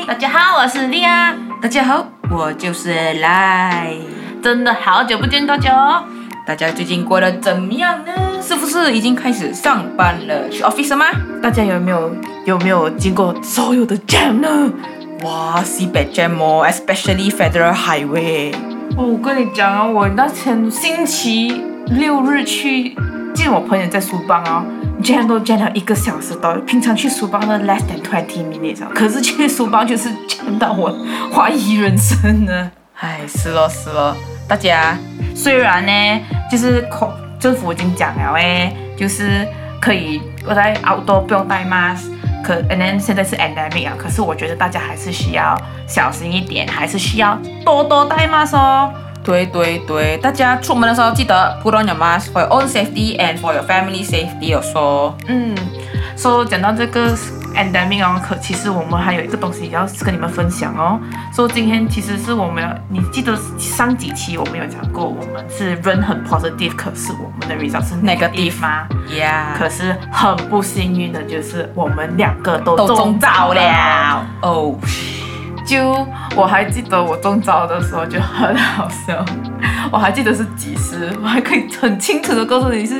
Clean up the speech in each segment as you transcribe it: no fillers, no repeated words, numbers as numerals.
大家好，我是莉亚。 大家好，我就是赖。 真的好久不见大家哦。 大家最近过得怎么样呢？是不是已经开始上班了？去 office 了吗？ 大家有没有经过所有的 jam 呢？ 哇，西北 jam 哦 ，especially Federal Highway。 我跟你讲啊，我那天星期六日去见我朋友在苏邦啊，jam 都 jam 了1个小时多，平常去苏邦的 less than 20 minutes 啊，可是去苏邦就是 jam 到我怀疑人生呢。 唉，是咯，大家虽然呢，就是政府已经讲了就是可以我在 outdoor 不用戴 mask， and then 现在是 endemic 啊，可是我觉得大家还是需要小心一点，还是需要多戴 mask 哦。 对，大家出门的时候记得 put on your mask for your own safety and for your family safety also。 所以讲到这个 endemic 哦，其实我们还有一个东西要跟你们分享哦。所以今天其实是我们你记得上几期我们有讲过，我们是人很 positive， 可是我们的 result 是 negative 吗 ？Yeah。 可是很不幸运的就是我们2个都中招了哦。 就我还记得我中招的时候就很好笑，我还记得是几时，我还可以很清楚的告诉你是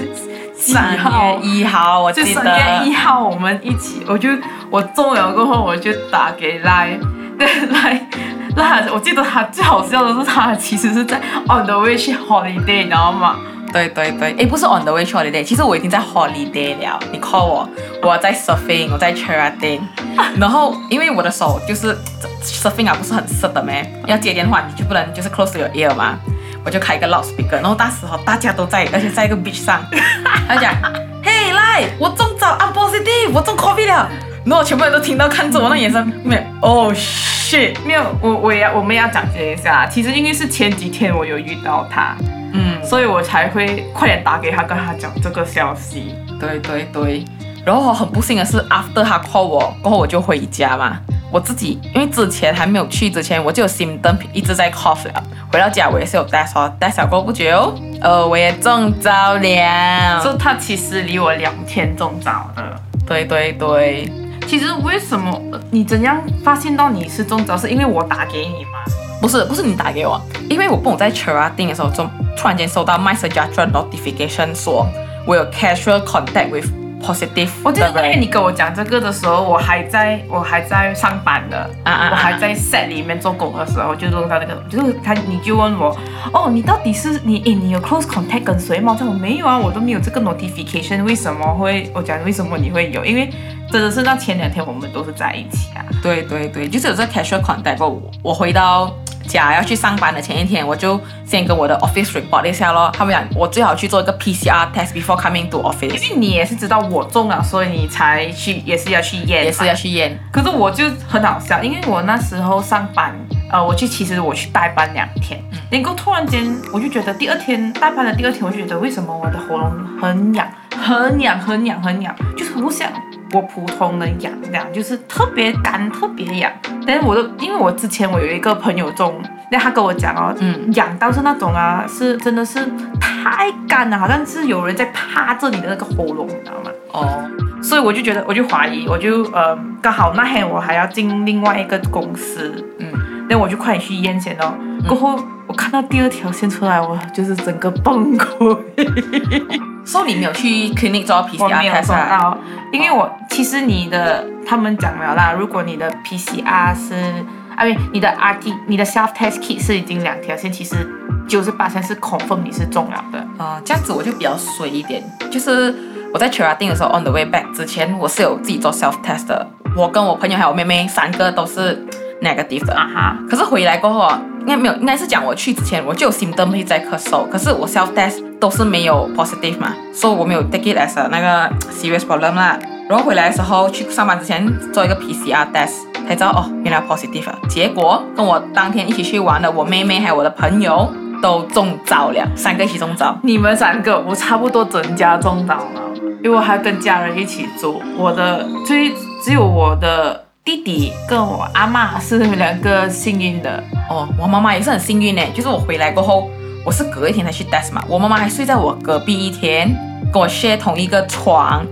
3月1号，我记得。 就3月1号我们一起，我中了过后我就打给赖，我记得他最好笑的是他其实是在 on the way 去 holiday， 你知道吗？ 对，不是 on the way 去 holiday， 其实我已经在 holiday 了。你 call我在 surfing， 我在 Cherating， 然后因为我的手就是 surfing 啊，不是很湿的咩，要接电话你就不能就是 close to your ear 嘛，我就开一个 loudspeaker， 然后那时候大家都在，而且在一个 beach 上，他讲 ，Hey 来，我中招 ，I'm positive， 我中 COVID 了，然后全部人都听到看着我那眼神，没有 ，Oh shit， 没有，我们要讲解一下，其实因为是前几天我有遇到他。所以我才会快点打给他，跟他讲这个消息。 对，然后很不幸的是 ，after 他 call 我过后，我就回家嘛。我自己因为之前还没有去之前，我就有 symptom 一直在 cough 了。回到家我也是有 test 哦，test 了过不久，我也中招了。 所以他其实离我2天中招的。 对。 其实为什么你怎样发现到你是中招？是因为我打给你吗？ 不是你打给我，因为我不懂在 Cherating 的时候，突然间收到 MySejahtera notification 说我有 casual contact with positive。 我记得那天你跟我讲这个的时候，我还在上班的，我还在 set 里面做工的时候，就弄到那个，你就问我，你到底是你有 close contact 跟谁吗？我没有啊，我都没有这个 notification， 为什么会？我讲为什么你会有？因为真的是那前2天我们都是在一起啊。对， 就是有这 casual contact。我回到家要去上班的前一天，我就先跟我的 office report 一下咯。他们讲我最好去做一个 PCR test before coming to office。 因为你也是知道我中了，所以你才去，也是要去验。可是我就很好笑，因为我那时候上班，其实我去代班2天，然后突然间我就觉得代班的第二天，我就觉得为什么我的喉咙很痒，就是不像我普通的痒这样，就是特别干特别痒。但是因为我之前我有一个朋友中，那他跟我讲痒到是那种啊，是真的是太干了，好像是有人在趴着你的那个喉咙，你知道吗？所以我就觉得，我就怀疑，我就刚好那天我还要进另外一个公司，那我就快点去验先哦。过后我看到第2条线出来，我就是整个崩溃。 所以你没有去 clinic 做 PCR test 我没有做到，因为其实他们讲了啦，如果你的 PCR 是，你的 你的 self test kit 是已经2条线，其实98%是 confirm 你是中了的。 这样子我就比较衰一点，就是我在 Cherating 的时候 on the way back 之前，我是有自己做 self test 的，我跟我朋友还有我妹妹3个都是 negative 的可是回来过后应该是讲我去之前我就有 symptom 会在咳嗽，可是我 self test 都是没有 positive 嘛，所以我没有 take it as 那个 serious problem 啦。然后回来的时候去上班之前做一个 PCR test， 才知道原来 positive 了。结果跟我当天一起去玩的我妹妹还有我的朋友都中招了，3个一起中招。 你们3个，我差不多整家中招了，因为我还跟家人一起住，只有我的弟弟跟我阿嬷是2个幸运的。 我妈妈也是很幸运耶，就是我回来过后，我是隔一天才去 test 嘛，我妈妈还睡在我隔壁一天，跟我 share 同一个床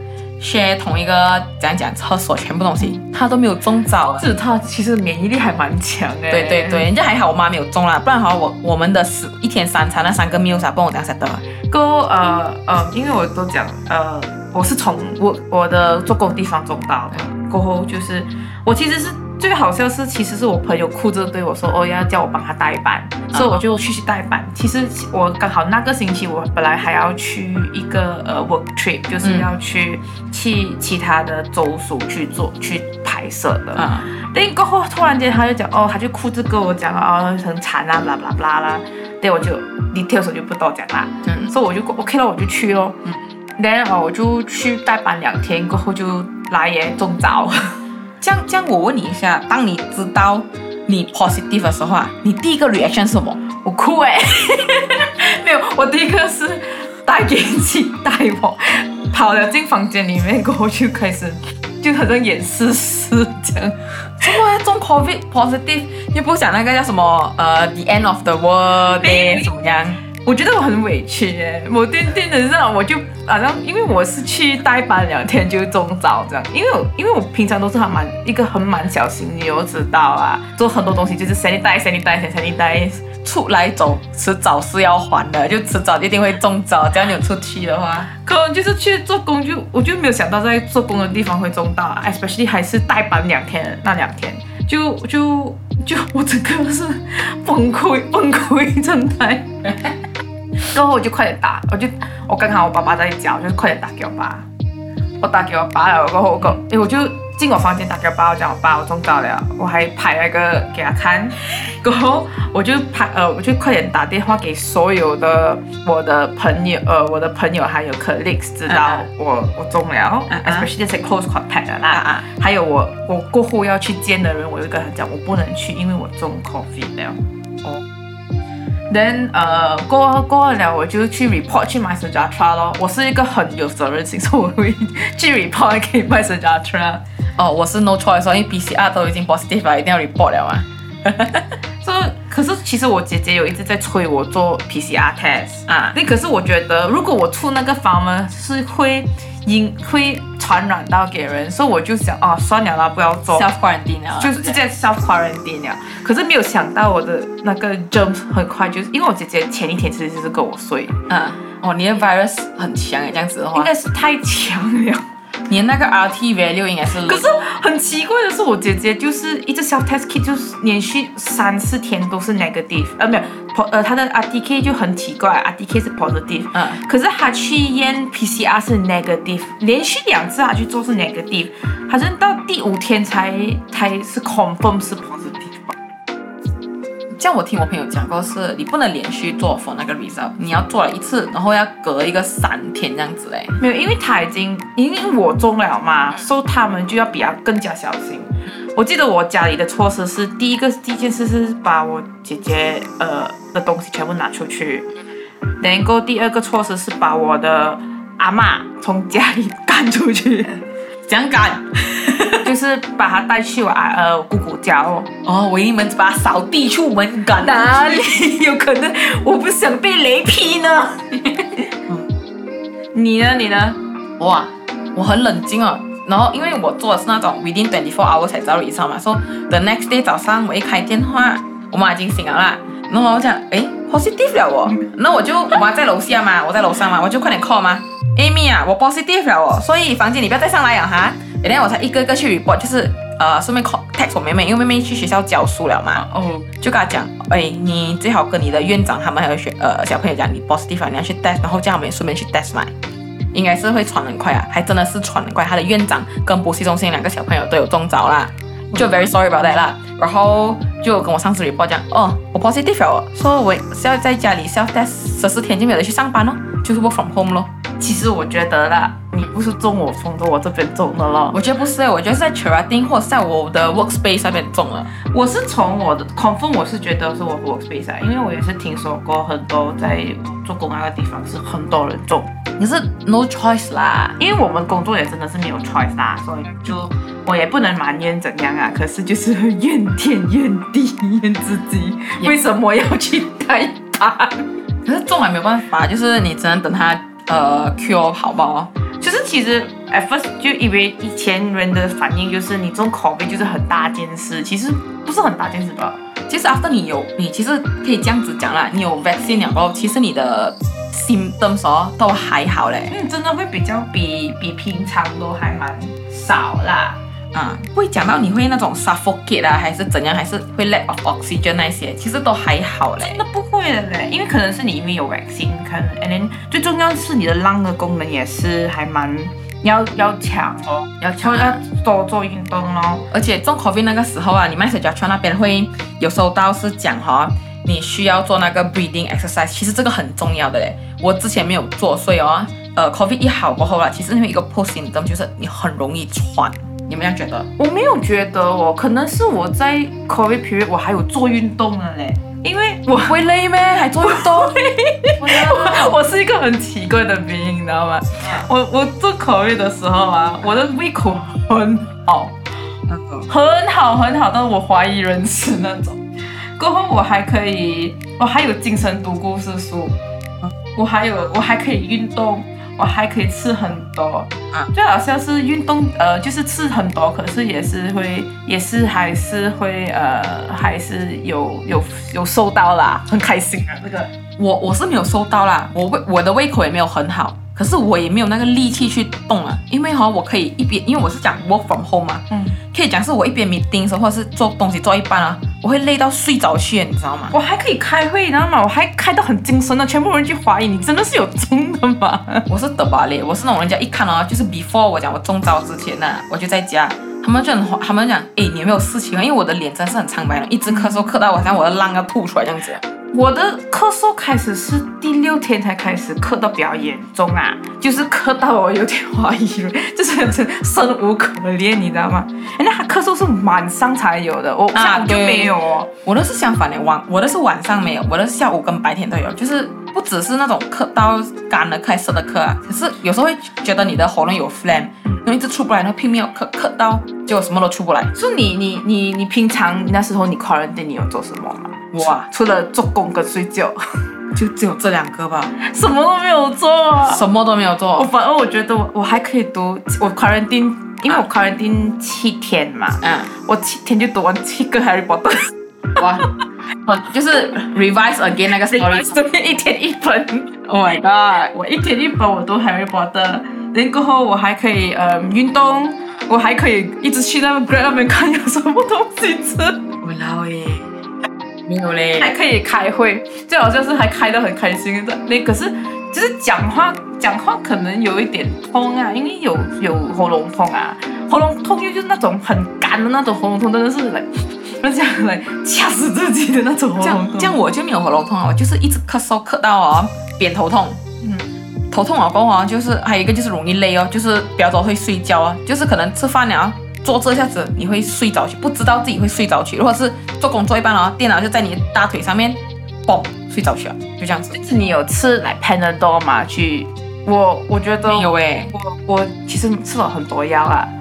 share 同一个讲厕所全部东西，他都没有中招， 是他其实免疫力还蛮强的。 对对对，人家还好我妈没有中啦，不然好我们的一天3餐那3个 meals 帮我这样 set 的。 因为我都讲我是从我的做工地方中到的，过后就是我其实是。最好笑是，其实是我朋友哭着对我说，要叫我帮他代班，所以我就去代班。其实我刚好那个星期我本来还要去一个work trip， 就是要去其他的州属去拍摄的。但过后突然间他就讲他就哭着跟我讲很惨啊，blah blah blah啦。对，我就 details 我就不多讲啦。所以我就 OK 了，我就去咯。然后我就去代班2天，过后就来也中招。 这样我问你一下，当你知道你 positive 的时候啊，你第一个 reaction 是什么？ 我哭没有，我第一个是带元气带我跑了进房间里面，过后就开始就好像演诗诗这样。 怎么要中 COVID positive？ 又不想那个叫什么the end of the world day 怎么样？ 我觉得我很委屈耶，我定的这样，我就好像因为我是去代班2天就中招这样，因为我平常都是一个很蛮小心，你有知道啊，做很多东西就是 sanitize， 出来走迟早是要还的，就迟早一定会中招，只要你有出去的话， 可能就是去做工我就没有想到在做工的地方会中到 ，especially 还是代班2天那2天，就我整个是崩溃状态。然后我就快点打，我刚好我爸爸在家，我就快点打给我爸。我打给我爸了，过后我就进我房间打给我爸，我讲我爸我中招了，我还拍那个给他看。过后我就快点打电话给所有的我的朋友还有 colleagues 知道我中了，especially 这些 close contact 的啦。还有我过后要去见的人，我就跟他讲我不能去，因为我中 COVID 了。Then 过了我就去 report 去 MySejahtera 咯。我是一个很有责任心，所以我会去 report 给 MySejahtera。 我是 no choice， 因为 PCR 都已经 positive 了，一定要 report 了嘛。 可是其实我姐姐有一直在催我做 PCR test 啊。可是我觉得如果我出那个房门是会传染到给人，所以我就想算了啦，不要做 self quarantine 了， 就是直接 self quarantine 了。可是没有想到我的那个 germs 很快就是因为我姐姐前一天其实就是跟我睡。 你的 virus 很强这样子的话， 应该是太强了。 你的那个 RT value 应该是， 可是很奇怪的是，我姐姐就是一直 self test kit 就是连续3-4天都是 negative， 没有，她的 RTK 就很奇怪 ，RTK 是 positive，可是她去验 PCR 是 negative， 连续2次她去做是 negative， 好像到第5天才是 confirm 是 positive 吧。 像我听我朋友讲过，是你不能连续做 for 那个 result， 你要做了1次，然后要隔一个3天这样子嘞。 没有，因为因为我中了嘛，所以他们就要比较更加小心。我记得我家里的措施是第一件事是把我姐姐的东西全部拿出去，然后第2个措施是把我的阿嬷从家里赶出去。 怎样赶？ 就是把他带去我姑姑家我以为你们把他扫地出门赶。 哪里有可能？我不想被雷劈呢。你呢？ 我很冷静哦。然后因为我做的是那种 within 24 hours 才知道 result 嘛，所以 the next day 早上我一开电话，我妈已经醒了啦。然后我讲positive 了那我妈在楼下嘛，我在楼上嘛，我就快点 call 嘛。Amy 啊，我 positive 了所以房间你不要再上来了哈。然后我才一个一个去 report， 就是顺便 text 我妹妹，因为妹妹去学校教书了嘛。就跟她讲，你最好跟你的院长他们还有小朋友讲，你 positive 你要去 test， 然后叫他们顺便去 test 嘛。应该是会传很快啊，还真的是传很快。他的院长跟补习中心2个小朋友都有中招啦，就 very sorry about that 啦。然后就跟我上司 report 讲，我 positive 了所以我是要在家里 self test 14天就没有去上班咯，就是 work from home 咯。 其实我觉得啦，你不是中我风的，我这边中的咯。 我觉得不是，我觉得是在 Cherating 或者在我的 workspace 那边中了。 我是从我的 confirm， 我是觉得是我的 workspace 因为我也是听说过很多在做工那个地方是很多人中。 可是 no choice 啦， 因为我们工作也真的是没有 choice 啦，所以就我也不能埋怨怎样啊。可是就是怨天怨地怨自己，为什么要去代班？ 可是中还没有办法，就是你只能等他cure 好不好？ 就是其实 at first 就以为以前人的反应就是你中 COVID 就是很大件事，其实不是很大件事吧？ 其实 after 你其实可以这样子讲啦，你有 vaccine 了过后，其实你的 symptoms 都还好嘞。 真的会比平常都还蛮少啦。 不会讲到你会那种 suffocate 啊，还是怎样，还是会 lack of oxygen 那些，其实都还好嘞。 真的不会的嘞，因为可能是你因为有 vaccine， 可能 and then 最重要是你的lung的功能也是还蛮要强哦，要多做运动咯。 而且中 COVID 那个时候啊，你 MySejahtera 那边会有收到是讲你需要做那个 breathing exercise， 其实这个很重要的嘞。我之前没有做，所以COVID 一好过后啦，其实因为一个 post symptom 就是你很容易喘。你们这样觉得？ 我没有觉得可能是我在 COVID period 我还有做运动的嘞，因为我会累咩？还做运动？ 我是一个很奇怪的病，你知道吗？我做 COVID 的时候啊，我的胃口很好，很好，但是我怀疑人生那种。过后我还有精神读故事书，我还可以运动。我还可以吃很多，最好像是运动，就是吃很多，可是还是有瘦到啦，很开心啊！这个我是没有瘦到啦，我的胃口也没有很好，可是我也没有那个力气去动啊，因为我可以一边，因为我是讲 work from home 嘛，可以讲是我一边 meeting 的时候，或者是做东西做一半啊，我会累到睡着去，你知道吗？ 我还可以开会，你知道吗？我还开到很精神的，全部人就怀疑你真的是有中的吗？ 我是得吧嘞，我是那种人家一看就是 before 我讲我中招之前我就在家，他们讲，你有没有事情啊？因为我的脸真是很苍白了，一直咳嗽咳到好像我的浪要吐出来这样子。 我的咳嗽开始是第6天才开始咳到比较严重啊，就是咳到我有点怀疑了，就是生无可恋，你知道吗？那他咳嗽是晚上才有的，我下午就没有哦。 我的是相反的，我的是晚上没有，我的是下午跟白天都有，就是不只是那种咳到干了开始的咳啊，可是有时候会觉得你的喉咙有 phlegm， 然后一直出不来，然后拼命要咳到结果什么都出不来。 所以你平常那时候你 quarantine 你有做什么吗？除了做工跟睡觉， 就只有这2个吧， 什么都没有做什么都没有做。 反而我觉得我还可以读，我 quarantine， 因为我 quarantine 7天嘛，我7天就读完7个 Harry Potter， 哇，就是 revise again 那个 story， 一天一本 ，Oh my god， 我一天一本我读 Harry Potter， 然后过后我还可以运动，我还可以一直去那个 Grab 那边看有什么东西吃， 我老耶。没有嘞， 还可以开会，最好像是还开得很开心的。可是就是讲话可能有一点痛啊，因为有喉咙痛啊，喉咙痛就是那种很干的那种喉咙痛，真的是这样掐死自己的那种喉咙痛。 这样我就没有喉咙痛啊，我就是一直咳嗽咳到扁头痛。头痛过后就是还有一个就是容易累就是比较多会睡觉就是可能吃饭了。坐这下子你会睡着去，不知道自己会睡着去。如果是做工做一半电脑就在你的大腿上面，嘣睡着去了，就这样子。 就是你有吃Panadol 吗？我觉得没有我其实吃了很多药啊，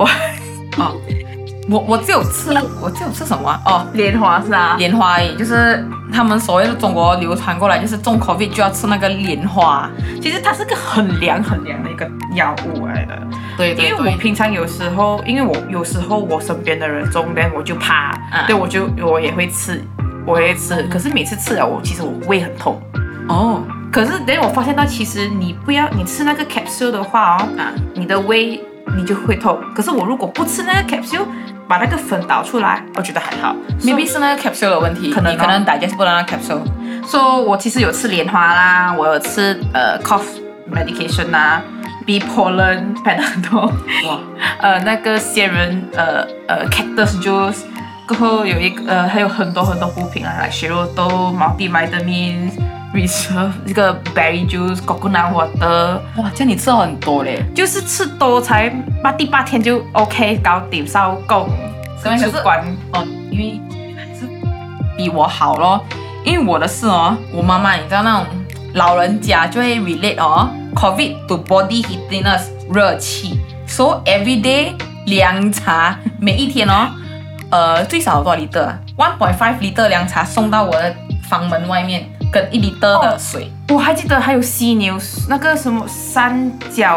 我只有吃什么莲花是啊， 莲花而已，就是他们所谓的中国流传过来，就是中 COVID 就要吃那个莲花。 其实它是个很凉的一个药物来的。 对， 因为我平常有时候我身边的人中间我就怕，对我也会吃，可是每次吃了其实我胃很痛。可是等我发现到其实你吃那个 capsule 的话你的胃你就会痛。可是我如果不吃那个 capsule， 把那个粉倒出来，我觉得还好。 maybe 是那个 capsule 的问题，可能digest 不到那个 capsule。 我其实有吃莲花啦，我有吃cough medication 啦。B pollen Panadol， 那个仙人cactus juice， 过后有还有很多补品雪肉豆 multivitamin reserve 这个 berry juice coconut water。 哇，这样你吃了很多嘞， 就是吃多才第8天就 OK 搞定收工，出关因为还是比我好咯，因为我的是我妈妈你知道那种老人家就会 relate COVID to body heatiness 热气 ，so every day 凉茶，每一天最少有多少 liter 1.5 liter 凉茶送到我的房门外面，跟1 liter 的水。 我还记得还有犀牛那个什么三角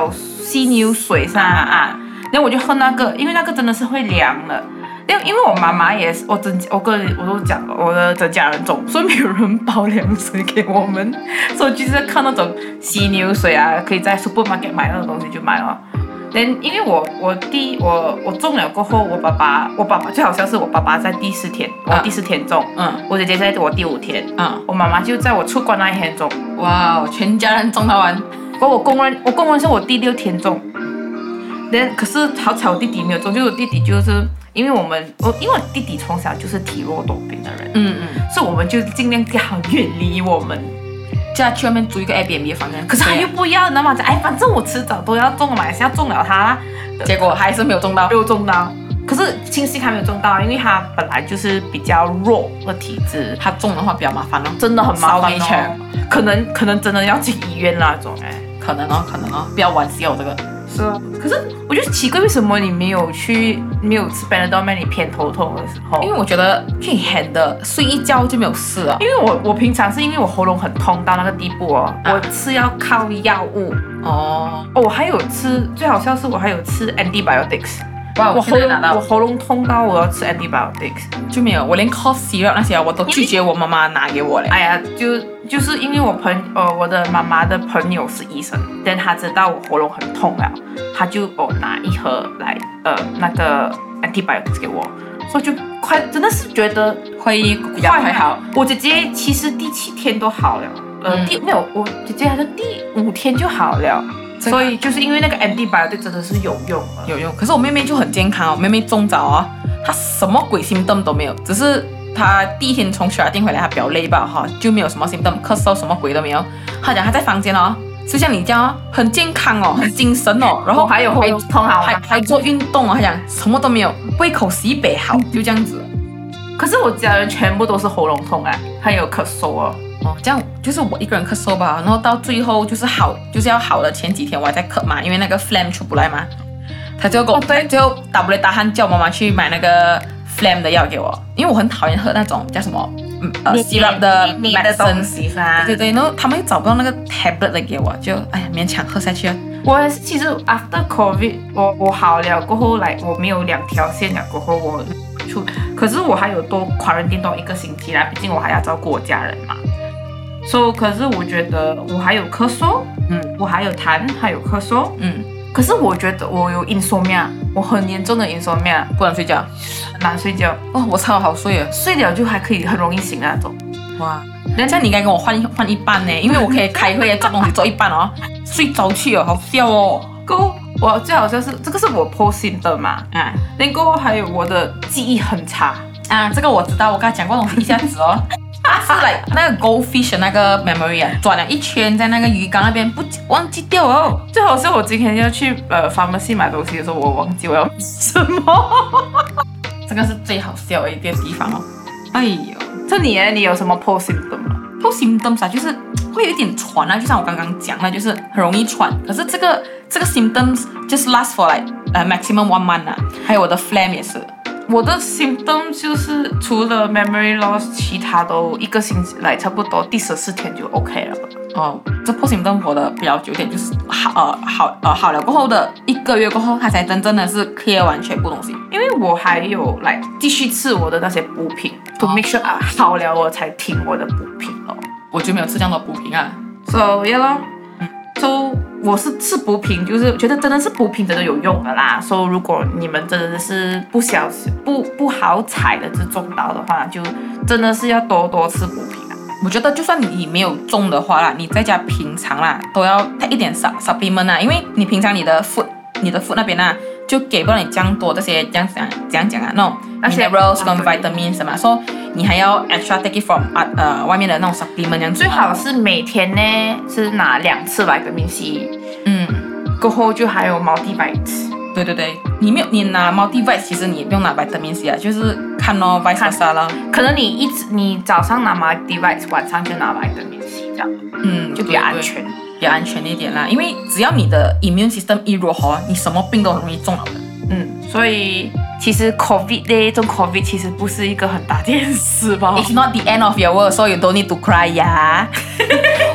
犀牛水上啊，然后我就喝那个，因为那个真的是会凉的。因为我妈妈也是，我都讲了，我的整家人中，所以没有人包凉水给我们，所以就是看那种犀牛水啊，可以在 supermarket 买那种东西就买了。因为我中了过后，我爸爸最好笑是我爸爸在第4天，我第4天中，我姐姐在我第5天，我妈妈就在我出关那一天中， 哇，全家人中到完。 我公认是我第6天中，可是好巧我弟弟没有中，就是我弟弟就是因为我弟弟从小就是体弱多病的人，所以我们就尽量最好远离我们。 叫他去外面租一个 Airbnb 的房间， 可是他又不要，你知道吗？反正我迟早都要中了嘛，还是要中了他啦。 结果还是没有中到， 可是庆幸他没有中到，因为他本来就是比较弱的体质， 他中的话比较麻烦哦， 真的很麻烦哦。可能真的要进医院那种可能哦，不要玩笑这个。 是啊，可是我就奇怪，为什么你没有吃 Panadol 你偏头痛的时候？ 因为我觉得可以 handle，睡一觉就没有事了。 因为我平常是因为我喉咙很痛到那个地步哦，我吃要靠药物我还有吃，最好笑是我还有吃 antibiotics。哇，我喉咙痛到我要吃 antibiotics， 就没有，我连 cough syrup 那些我都拒绝我妈妈拿给我嘞。 哎呀，就是因为我的妈妈的朋友是医生，但他知道我喉咙很痛了，他就拿一盒来那个 antibiotics 给我，所以就真的是觉得会比较快好。 我姐姐其实第7天都好了，没有，我姐姐好像第5天就好了。所以就是因为那个 antibiotic 真的是有用。 可是我妹妹就很健康哦，妹妹中早哦，她什么鬼 symptom 都没有，只是她第1天从雪店回来，她比较累吧哈，就没有什么 symptom， 咳嗽什么鬼都没有。她讲她在房间哦，就像你这样很健康哦，很精神哦，然后还有喉咙痛好， 还做运动哦，她讲什么都没有，胃口西北好，就这样子。 可是我家人全部都是喉咙痛还有咳嗽哦。 这样就是我一个人咳嗽吧，然后到最后就是要好的前几天我还在咳嘛，因为那个 phlegm 出不来嘛，他就跟我最后打不来打鼾，叫妈妈去买那个 phlegm 的药给我，因为我很讨厌喝那种叫什么syrup 的 medicine 对，然后他们又找不到那个 tablet 的给我，就勉强喝下去了。 我其实 after COVID 我好了过后我没有2条线了过后我可是我还有多quarantine多1个星期啦，毕竟我还要照顾我家人嘛。可是我觉得我还有咳嗽，我还有痰，还有咳嗽，可是我觉得我有 insomnia， 我很严重的 insomnia， 不能睡觉， 很难睡觉。 我超好睡了， 睡了就还可以很容易醒那种。 哇，人家你应该跟我换一半呢，因为我可以开会做东西做一半哦，睡着去哦，好笑哦。 我最好笑是这个是我 post 的嘛，然后还有我的记忆很差这个我知道，我跟他讲过东西一下子哦。是那个 goldfish 的那个 memory 转了一圈在那个鱼缸那边，忘记掉哦。 最好是我今天要去pharmacy 买东西的时候，我忘记我要买什么。 这个是最好笑的一个地方哦。哎呦， 这你有什么 post symptom 吗？ post symptoms 就是会有一点喘就像我刚刚讲的，就是很容易喘。可是这个 symptoms just last for maximum 1 month 还有我的 phlegm 也是。 我的 symptom 就是除了 memory loss， 其他都1个星期差不多第14天就 OK 了。 这 post symptom 活的比较久点，就是好了过后的1个月过后，它才真正的是 clear 完全部东西。 因为我还有继续吃我的那些补品，to make sure 好了我才停我的补品哦。 我就没有吃这样的补品 So yeah 咯。我是吃补品，就是觉得真的是补品真的有用的啦。如果你们真的是不好彩的中到的话，就真的是要多多吃补品我觉得就算你没有中的话啦，你在家平常啦都要 take 一点 supplement 因为你平常你的 food 那边就给不了你这样多这些这样讲那种 minerals 跟 vitamins 嘛，所以你还要 extra take it from 外面的那种 supplement 这样子。 最好是每天呢是拿2次 vitamin C， 过后就还有 multivites。 对，你拿 multivite， 其实你也不用拿 vitamin C 就是看vice versa 啦。 可能你早上拿 multivite， 晚上就拿 vitamin C 这样，就比较安全。 比较安全一点啦，因为只要你的 immune system 一弱你什么病都很容易中了的。 所以其实 COVID 中 COVID 其实不是一个很大件事吧。 It's not the end of your world, so you don't need to cry 呀。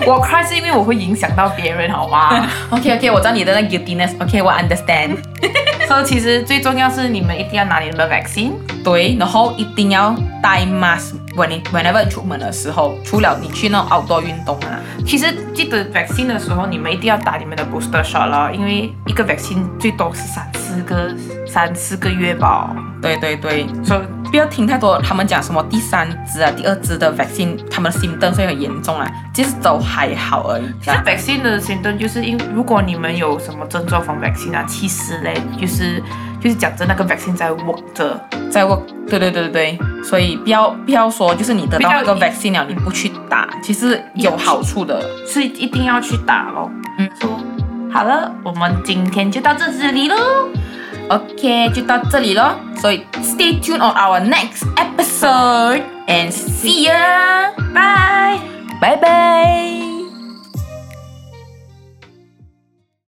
我 cry 是因为我会影响到别人，好吗 ？OK， 我知道你的那 guiltiness。OK， 我 understand。 所以其实最重要是你们一定要拿你们的 vaccine。 对，然后一定要戴 mask whenever 出门的时候，除了你去那种 outdoor 运动啊。 其实记得 vaccine 的时候，你们一定要打你们的 booster shot 了，因为一个 vaccine 最多是3、4个月吧。 对，所以不要听太多他们讲什么第3支啊、第2支的 vaccine， 他们的 symptom 会很严重啊，其实都还好而已。 其实 vaccine 的 symptom 就是如果你们有什么症状from vaccine 啊，其实嘞就是讲着那个 vaccine 在 work 着， 在 work。对，所以不要说就是你得到那个 vaccine 了，你不去打，其实有好处的， 是一定要去打咯。好了，我们今天就到这里咯。 OK， 就到这里咯。所以 stay tuned on our next episode and see ya， bye。